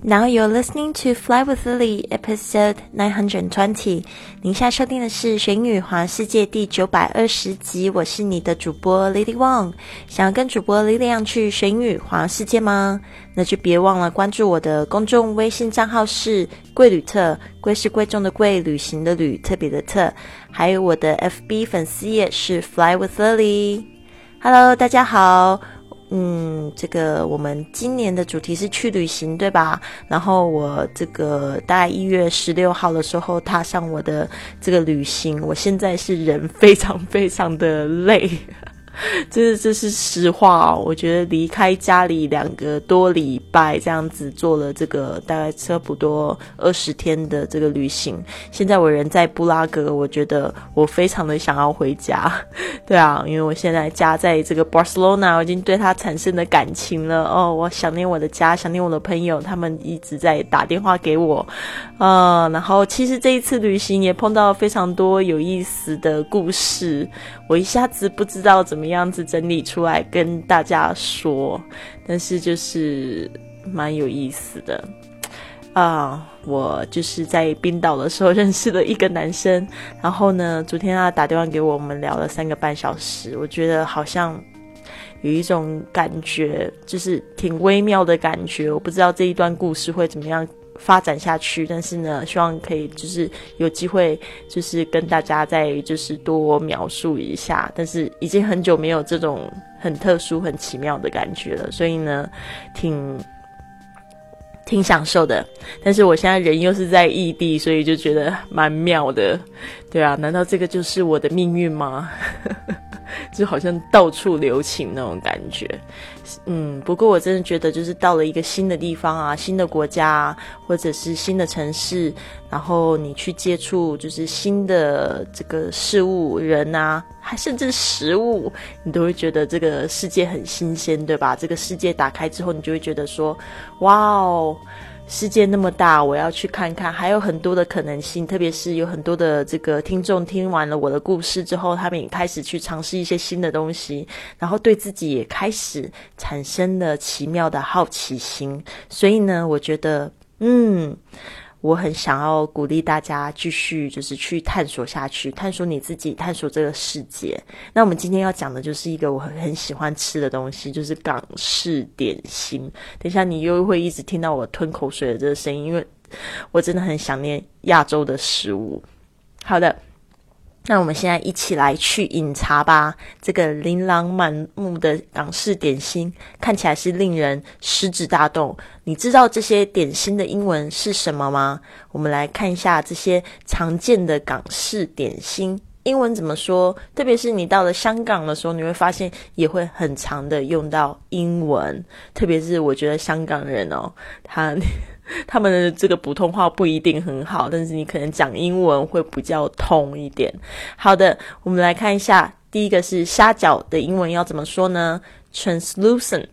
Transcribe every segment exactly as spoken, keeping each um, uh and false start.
Now you're listening to Fly with Lily, episode nine hundred twenty. 您现在收听的是学英语环世界第九百二十集，我是你的主播 Lily Wang。想要跟主播 Lily 一样去学英语环世界吗？那就别忘了关注我的公众微信账号是贵旅特，贵是贵重的贵，旅行的旅，特别的特，还有我的 F B 粉丝页是 Fly with Lily。Hello， 大家好。嗯，这个我们今年的主题是去旅行，对吧？然后我这个大概一月十六号的时候踏上我的这个旅行，我现在是人非常非常的累。这这是实话哦，我觉得离开家里两个多礼拜这样子做了这个大概差不多二十天的这个旅行，现在我人在布拉格，我觉得我非常的想要回家。对啊，因为我现在家在这个 Barcelona， 我已经对它产生了感情了哦，我想念我的家，想念我的朋友，他们一直在打电话给我。呃，然后其实这一次旅行也碰到非常多有意思的故事，我一下子不知道怎么样子整理出来跟大家说，但是就是蛮有意思的啊、uh, 我就是在冰岛的时候认识了一个男生，然后呢昨天他打电话给我，我们聊了三个半小时，我觉得好像有一种感觉，就是挺微妙的感觉，我不知道这一段故事会怎么样发展下去，但是呢希望可以就是有机会就是跟大家再就是多描述一下，但是已经很久没有这种很特殊很奇妙的感觉了，所以呢挺挺享受的，但是我现在人又是在异地，所以就觉得蛮妙的。对啊，难道这个就是我的命运吗？就好像到处留情那种感觉。嗯，不过我真的觉得就是到了一个新的地方啊，新的国家啊，或者是新的城市，然后你去接触就是新的这个事物人啊，还甚至食物，你都会觉得这个世界很新鲜，对吧？这个世界打开之后，你就会觉得说哇哦，世界那么大，我要去看看，还有很多的可能性，特别是有很多的这个听众听完了我的故事之后，他们也开始去尝试一些新的东西，然后对自己也开始产生了奇妙的好奇心，所以呢我觉得嗯我很想要鼓励大家继续就是去探索下去，探索你自己，探索这个世界。那我们今天要讲的就是一个我很很喜欢吃的东西，就是港式点心。等一下你又会一直听到我吞口水的这个声音，因为我真的很想念亚洲的食物。好的，那我们现在一起来去饮茶吧。这个琳琅满目的港式点心看起来是令人食指大动，你知道这些点心的英文是什么吗？我们来看一下这些常见的港式点心英文怎么说，特别是你到了香港的时候，你会发现也会很常的用到英文，特别是我觉得香港人哦，他他们的这个普通话不一定很好，但是你可能讲英文会比较通一点。好的，我们来看一下，第一个是虾饺的英文要怎么说呢？ translucent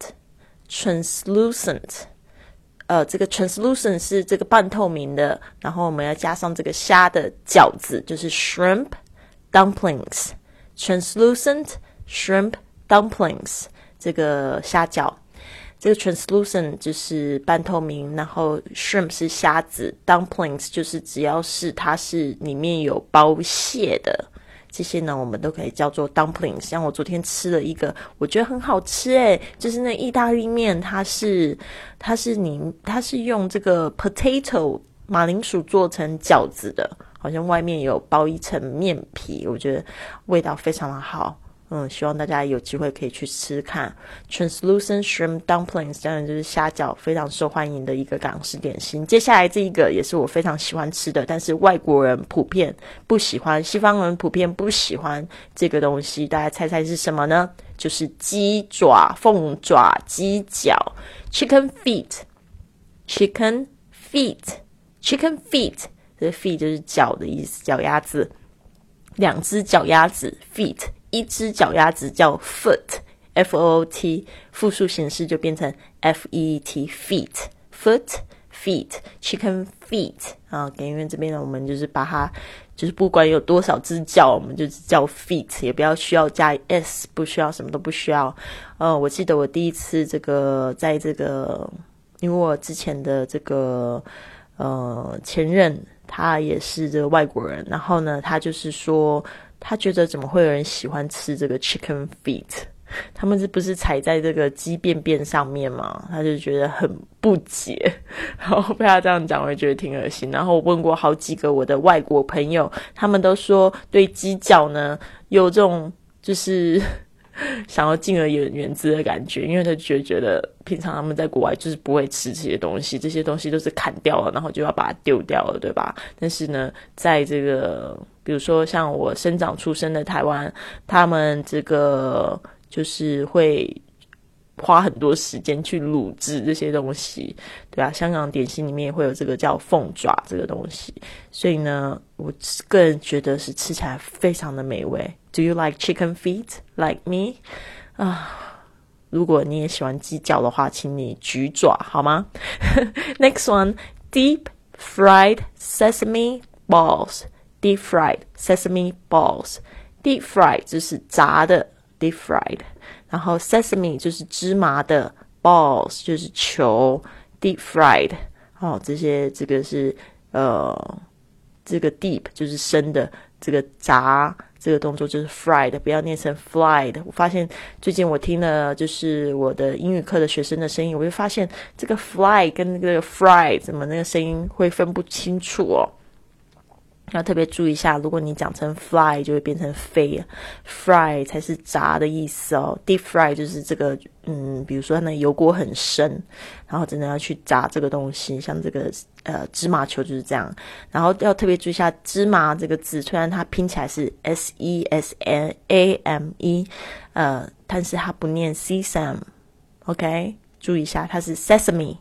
translucent 呃，这个 translucent 是这个半透明的，然后我们要加上这个虾的饺子，就是 shrimp dumplings translucent shrimp dumplings 这个虾饺。这个 translucent 就是半透明，然后 shrimp 是虾子， dumplings 就是只要是它是里面有包蟹的，这些呢我们都可以叫做 dumplings。 像我昨天吃了一个我觉得很好吃诶，就是那意大利面，它是它是你它是用这个 potato 马铃薯做成饺子的，好像外面有包一层面皮，我觉得味道非常的好。嗯，希望大家有机会可以去吃看 translucent shrimp dumplings， 当然就是虾饺，非常受欢迎的一个港式点心。接下来这一个也是我非常喜欢吃的，但是外国人普遍不喜欢，西方人普遍不喜欢这个东西，大家猜猜是什么呢？就是鸡爪、凤爪、鸡脚 chicken feet chicken feet chicken feet 这个 feet 就是脚的意思，脚丫子，两只脚丫子 feet，一只脚丫子叫 foot F O O T， 复数形式就变成 F E E T feet foot feet chicken feet 啊，因为这边呢我们就是把它就是不管有多少只脚，我们就叫 feet， 也不要需要加 s， 不需要，什么都不需要。呃，我记得我第一次这个在这个因为我之前的这个呃前任他也是这个外国人，然后呢他就是说他觉得怎么会有人喜欢吃这个 chicken feet， 他们是不是踩在这个鸡便便上面嘛，他就觉得很不解，然后被他这样讲我也觉得挺恶心。然后我问过好几个我的外国朋友，他们都说对鸡脚呢有这种就是想要敬而远远之的感觉，因为他就觉得平常他们在国外就是不会吃这些东西，这些东西都是砍掉了然后就要把它丢掉了，对吧？但是呢在这个比如说像我生长出生的台湾，他们这个就是会花很多时间去卤制这些东西，对吧？香港点心里面也会有这个叫凤爪这个东西，所以呢我个人觉得是吃起来非常的美味。 Do you like chicken feet like me? 啊，如果你也喜欢鸡脚的话请你举爪好吗？ Next one, deep fried sesame balls. Deep fried sesame balls. Deep fried 就是炸的 deep fried，然后 sesame 就是芝麻的， balls 就是球， deep fried 哦，这些这个是呃这个 deep 就是深的，这个炸这个动作就是 fried， 不要念成 fried。 我发现最近我听了就是我的英语课的学生的声音，我就发现这个 fly 跟那个 fried 怎么那个声音会分不清楚哦，要特别注意一下，如果你讲成 fly 就会变成飞， fry 才是炸的意思哦。 deep fry 就是这个嗯，比如说那油锅很深，然后真的要去炸这个东西，像这个呃芝麻球就是这样。然后要特别注意一下芝麻这个字，虽然它拼起来是 S E S A M E 呃，但是它不念 sesame， OK， 注意一下它是 sesame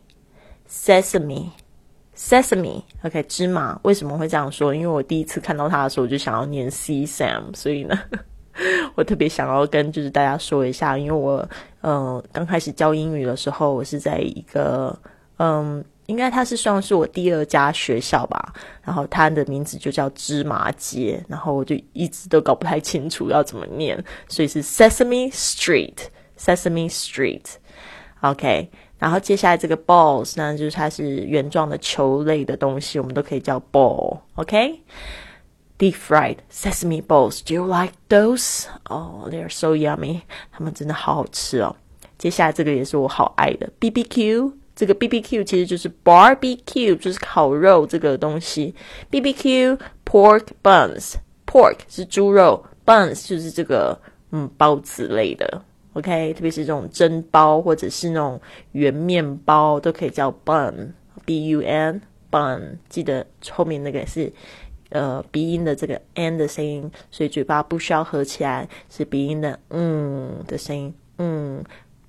sesame Sesame OK 芝麻。为什么会这样说？因为我第一次看到它的时候我就想要念 sesame， 所以呢我特别想要跟就是大家说一下，因为我呃刚开始教英语的时候，我是在一个嗯应该它是算是我第二家学校吧，然后它的名字就叫芝麻街，然后我就一直都搞不太清楚要怎么念，所以是 Sesame Street Sesame Street OK。然后接下来这个 balls 呢，就是它是圆状的球类的东西，我们都可以叫 ball OK。 Deep fried sesame balls, do you like those? Oh, they're so yummy， 它们真的好好吃哦。接下来这个也是我好爱的 B B Q， 这个 B B Q 其实就是 barbecue， 就是烤肉这个东西。 B B Q pork buns， pork 是猪肉， buns 就是这个嗯包子类的OK， 特别是这种蒸包或者是那种圆面包都可以叫 bun B U N bun， 记得后面那个是呃鼻音的这个 n 的声音，所以嘴巴不需要合起来，是鼻音的嗯的声音，嗯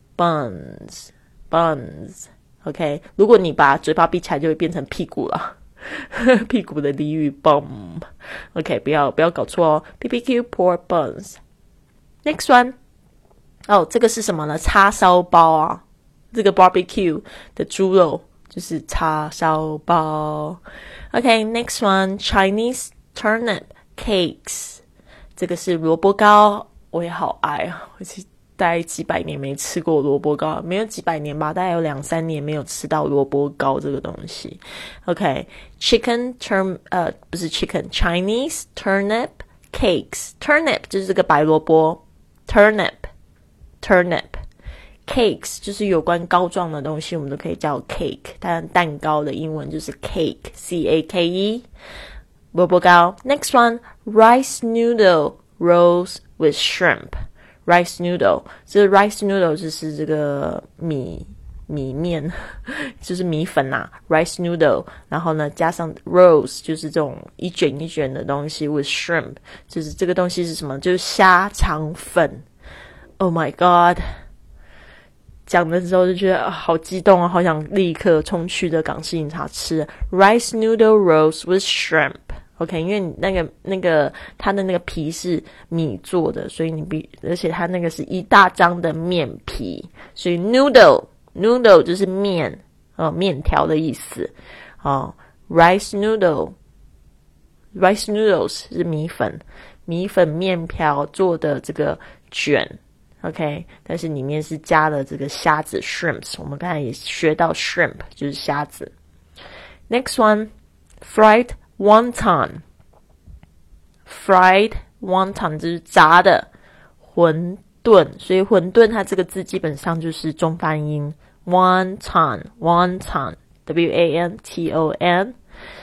buns buns OK。 如果你把嘴巴闭起来就会变成屁股了屁股的俚语 bum OK， 不要不要搞错哦。 B B Q pork buns。 Next one，哦，这个是什么呢？叉烧包啊，这个 barbecue 的猪肉就是叉烧包。OK， next one Chinese turnip cakes， 这个是萝卜糕，我也好爱啊，我其实大概几百年没吃过萝卜糕，没有几百年吧，大概有两三年没有吃到萝卜糕这个东西。OK， chicken turn 呃不是 chicken Chinese turnip cakes， turnip 就是这个白萝卜 turnip turnip cakes 就是有关膏状的东西我们都可以叫 cake， 但蛋糕的英文就是 cake C A K E， 萝卜糕。 Next one rice noodle rolls with shrimp。 rice noodle 这 rice noodle 就是这个米米面就是米粉啊 rice noodle， 然后呢加上 rolls 就是这种一卷一卷的东西 with shrimp 就是这个东西是什么？就是虾肠粉。Oh my god， 讲的时候就觉得、啊、好激动啊，好想立刻冲去的港式饮茶吃 rice noodle rolls with shrimp OK， 因为那个那个它的那个皮是米做的，所以你必而且它那个是一大张的面皮，所以 noodle noodle 就是面呃面条的意思哦。rice noodle rice noodles 是米粉米粉面条做的这个卷 OK， 但是里面是加了这个虾子 shrimps， 我们刚才也学到 shrimp 就是虾子。Next one, fried wonton. Fried wonton 就是炸的馄饨，所以馄饨它这个字基本上就是中翻音 wonton, wonton, W A N T O N.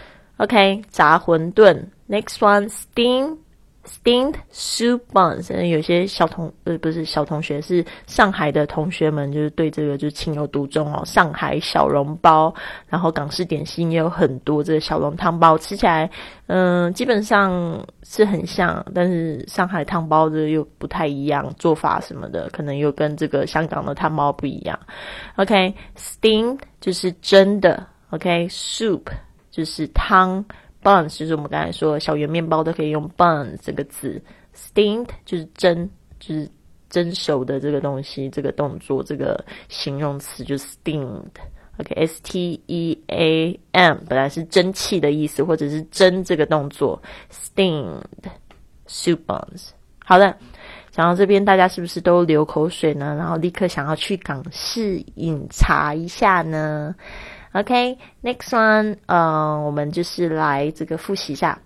OK， 炸馄饨。Next one, steamed.Steamed soup buns， 有些小同呃不是小同学，是上海的同学们，就是对这个就是情有独钟哦。上海小笼包，然后港式点心也有很多这个小笼汤包，吃起来嗯、呃、基本上是很像，但是上海汤包的又不太一样，做法什么的可能又跟这个香港的汤包不一样。OK， steamed 就是蒸的 ，OK， soup 就是汤。Buns 就是我们刚才说小圆面包都可以用 buns 这个字 ，steamed 就是蒸，就是蒸熟的这个东西，这个动作，这个形容词就是 steamed。OK，S T E A M 本来是蒸汽的意思，或者是蒸这个动作 ，steamed soup buns。好的，讲到这边，大家是不是都流口水呢？然后立刻想要去港式饮茶一下呢？OK, next one, 呃，我们就是来这个复习一下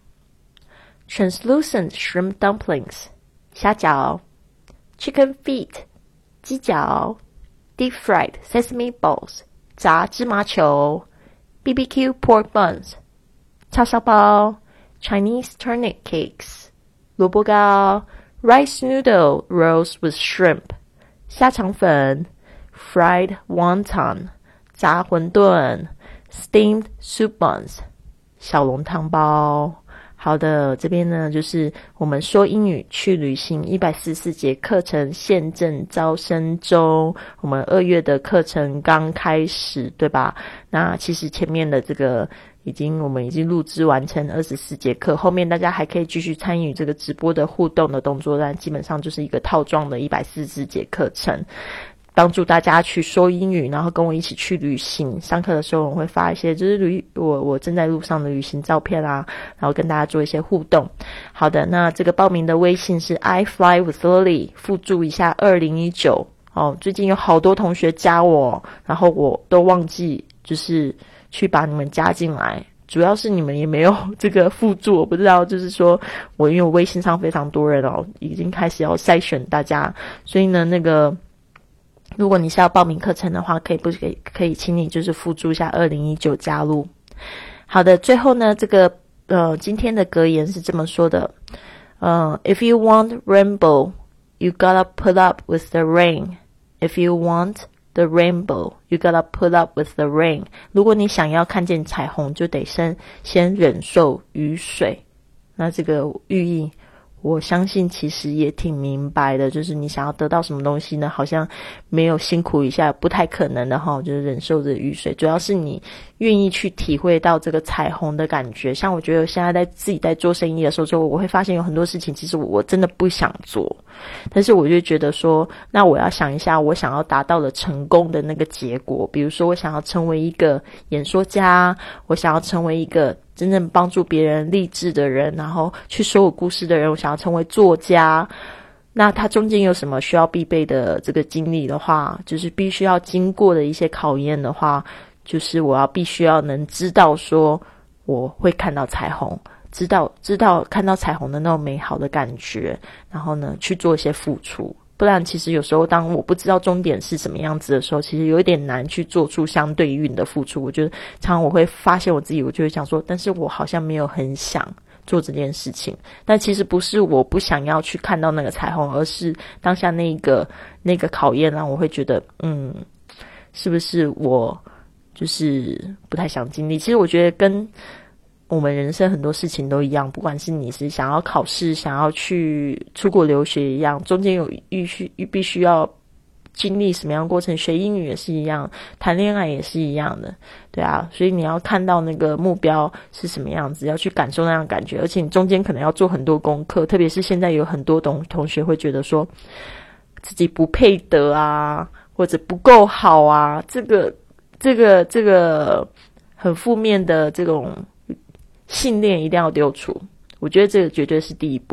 translucent shrimp dumplings 虾饺 chicken feet 鸡脚 deep fried sesame balls 炸芝麻球 B B Q pork buns 叉烧包 Chinese turnip cakes 萝卜糕 rice noodle rolls with shrimp 虾肠粉 fried wonton炸馄饨 steamed soup buns 小笼汤包。好的，这边呢就是我们说英语去旅行一百四十四节课程现正招生中，我们二月的课程刚开始，对吧？那其实前面的这个已经我们已经录制完成二十四节课，后面大家还可以继续参与这个直播的互动的动作，但基本上就是一个套装的一百四十四节课程，帮助大家去说英语，然后跟我一起去旅行。上课的时候我会发一些就是旅我我正在路上的旅行照片啊，然后跟大家做一些互动。好的，那这个报名的微信是 I fly with Lily， 附注一下二零一九哦。最近有好多同学加我，然后我都忘记就是去把你们加进来。主要是你们也没有这个附注，我不知道，就是说我因为我微信上非常多人哦，已经开始要筛选大家，所以呢那个如果你是要报名课程的话，可以不可以可以请你就是附注一下二零一九加入。好的，最后呢这个呃今天的格言是这么说的，呃 If you want rainbow, you gotta put up with the rain. If you want the rainbow, you gotta put up with the rain. 如果你想要看见彩虹，就得先先忍受雨水。那这个寓意我相信其实也挺明白的，就是你想要得到什么东西呢，好像没有辛苦一下不太可能的齁，就是忍受着雨水，主要是你愿意去体会到这个彩虹的感觉。像我觉得现在在自己在做生意的时候，就我会发现有很多事情其实我真的不想做，但是我就觉得说那我要想一下我想要达到的成功的那个结果，比如说我想要成为一个演说家，我想要成为一个真正帮助别人励志的人，然后去说我故事的人，我想要成为作家，那他中间有什么需要必备的这个经历的话，就是必须要经过的一些考验的话，就是我要必须要能知道说我会看到彩虹，知道知道看到彩虹的那种美好的感觉，然后呢去做一些付出。不然其实有时候当我不知道终点是什么样子的时候，其实有一点难去做出相对应的付出。我觉得常常我会发现我自己，我就会想说，但是我好像没有很想做这件事情。但其实不是我不想要去看到那个彩虹，而是当下那个那个考验让我会觉得嗯是不是我就是不太想经历。其实我觉得跟我们人生很多事情都一样，不管是你是想要考试，想要去出国留学一样，中间有必须必须要经历什么样的过程，学英语也是一样，谈恋爱也是一样的，对啊，所以你要看到那个目标是什么样子，要去感受那样的感觉，而且你中间可能要做很多功课，特别是现在有很多同同学会觉得说自己不配得啊，或者不够好啊，这个这个这个很负面的这种信念一定要丢除，我觉得这个绝对是第一步。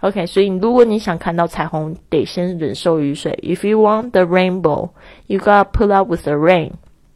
OK， 所以如果你想看到彩虹，得先忍受雨水。If you want the rainbow, you gotta put up with the rain.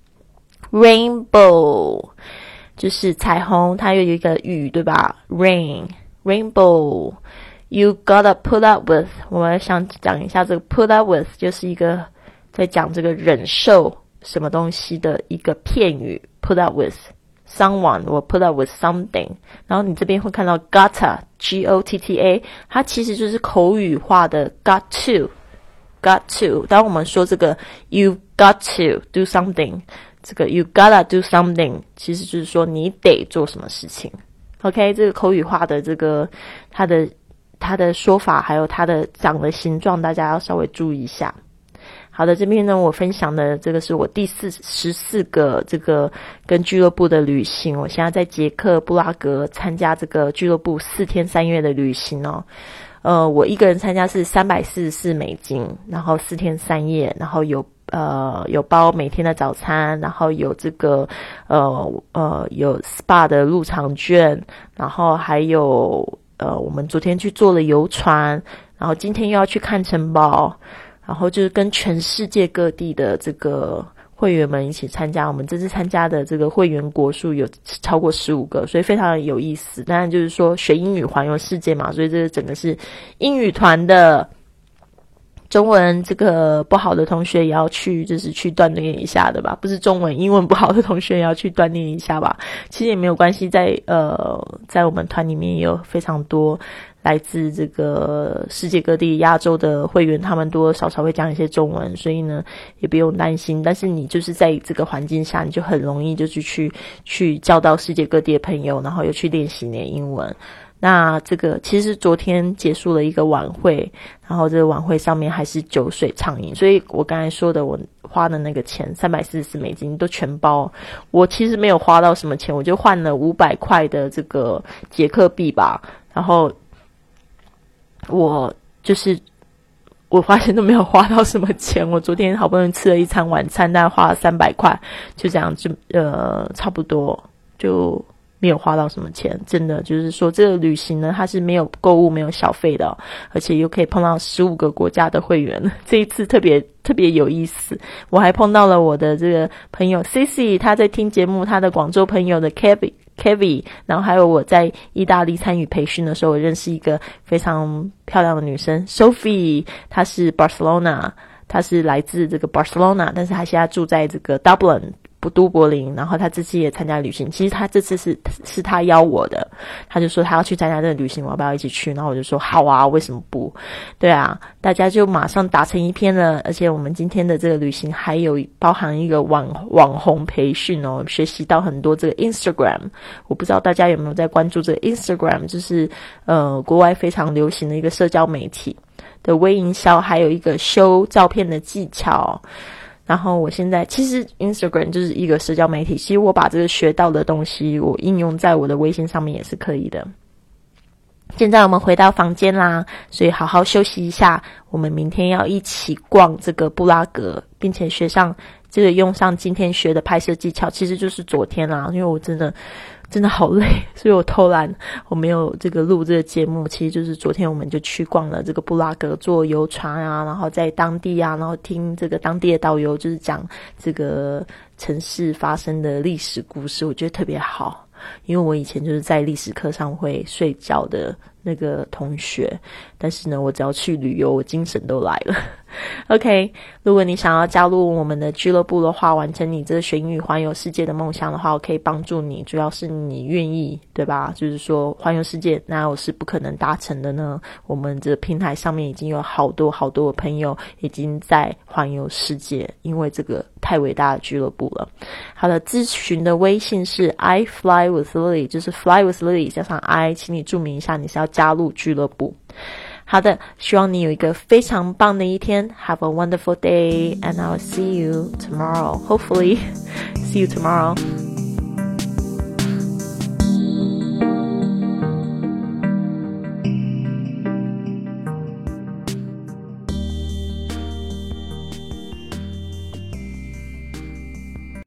Rainbow 就是彩虹，它有一个雨，对吧 ？Rain, rainbow. You gotta put up with. 我们想讲一下这个 put up with， 就是一个在讲这个忍受什么东西的一个片语。Put up with.Someone will put up with something， 然后你这边会看到 gotta G O T T A， 它其实就是口语化的 got to got to。当我们说这个 you got to do something， 这个 you gotta do something 其实就是说你得做什么事情。OK， 这个口语化的这个它的它的说法还有它的长的形状，大家要稍微注意一下。好的，这边呢，我分享的这个是我第四十四个这个跟俱乐部的旅行。我现在在捷克布拉格参加这个俱乐部四天三夜的旅行哦。呃，我一个人参加是三百四十四美金，然后四天三夜，然后有呃有包每天的早餐，然后有这个呃呃有 S P A 的入场券，然后还有呃我们昨天去坐了游船，然后今天又要去看城堡。然后就是跟全世界各地的这个会员们一起参加，我们这次参加的这个会员国数有超过十五个，所以非常的有意思。当然就是说学英语环游世界嘛，所以这个整个是英语团的。中文这个不好的同学也要去，就是去锻炼一下的吧，不是中文英文不好的同学也要去锻炼一下吧。其实也没有关系，在呃在我们团里面也有非常多来自这个世界各地亚洲的会员，他们多多少少会讲一些中文，所以呢也不用担心。但是你就是在这个环境下，你就很容易就是去去交到世界各地的朋友，然后又去练习你的英文。那这个其实昨天结束了一个晚会，然后这个晚会上面还是酒水畅饮，所以我刚才说的我花的那个钱三百四十四美金都全包。我其实没有花到什么钱，我就换了五百块的这个捷克币吧，然后我就是我发现都没有花到什么钱。我昨天好不容易吃了一餐晚餐，但花了三百块，就这样就呃差不多就没有花到什么钱。真的就是说这个旅行呢，它是没有购物没有小费的、哦、而且又可以碰到十五个国家的会员，这一次特别特别有意思。我还碰到了我的这个朋友 Cici， 他在听节目，他的广州朋友的 Kevin Kevin， 然后还有我在意大利参与培训的时候，我认识一个非常漂亮的女生 Sophie， 她是 Barcelona， 她是来自这个 Barcelona， 但是她现在住在这个 Dublin都柏林，然后他这次也参加旅行。其实他这次是是他邀我的，他就说他要去参加这个旅行，我要不要一起去？然后我就说好啊，为什么不？对啊，大家就马上打成一片了。而且我们今天的这个旅行还有包含一个网网红培训哦，学习到很多这个 Instagram。我不知道大家有没有在关注这个 Instagram， 就是呃国外非常流行的一个社交媒体的微营销，还有一个修照片的技巧。然后我现在其实 Instagram 就是一个社交媒体，其实我把这个学到的东西我应用在我的微信上面也是可以的。现在我们回到房间啦，所以好好休息一下，我们明天要一起逛这个布拉格，并且学上这个用上今天学的拍摄技巧，其实就是昨天啦，因为我真的真的好累，所以我偷懒，我没有这个录这个节目。其实就是昨天我们就去逛了这个布拉格，坐游船啊，然后在当地啊，然后听这个当地的导游就是讲这个城市发生的历史故事，我觉得特别好。因为我以前就是在历史课上会睡觉的那个同学，但是呢我只要去旅游我精神都来了。OK， 如果你想要加入我们的俱乐部的话，完成你这个学英语环游世界的梦想的话，我可以帮助你，主要是你愿意，对吧？就是说环游世界哪有是不可能达成的呢？我们这平台上面已经有好多好多的朋友已经在环游世界，因为这个太伟大的俱乐部了。好的，咨询的微信是 I fly with Lily， 就是 fly with Lily 加上 I， 请你注明一下你是要加入俱乐部。好的，希望你有一个非常棒的一天。Have a wonderful day, and I'll see you tomorrow. Hopefully, see you tomorrow.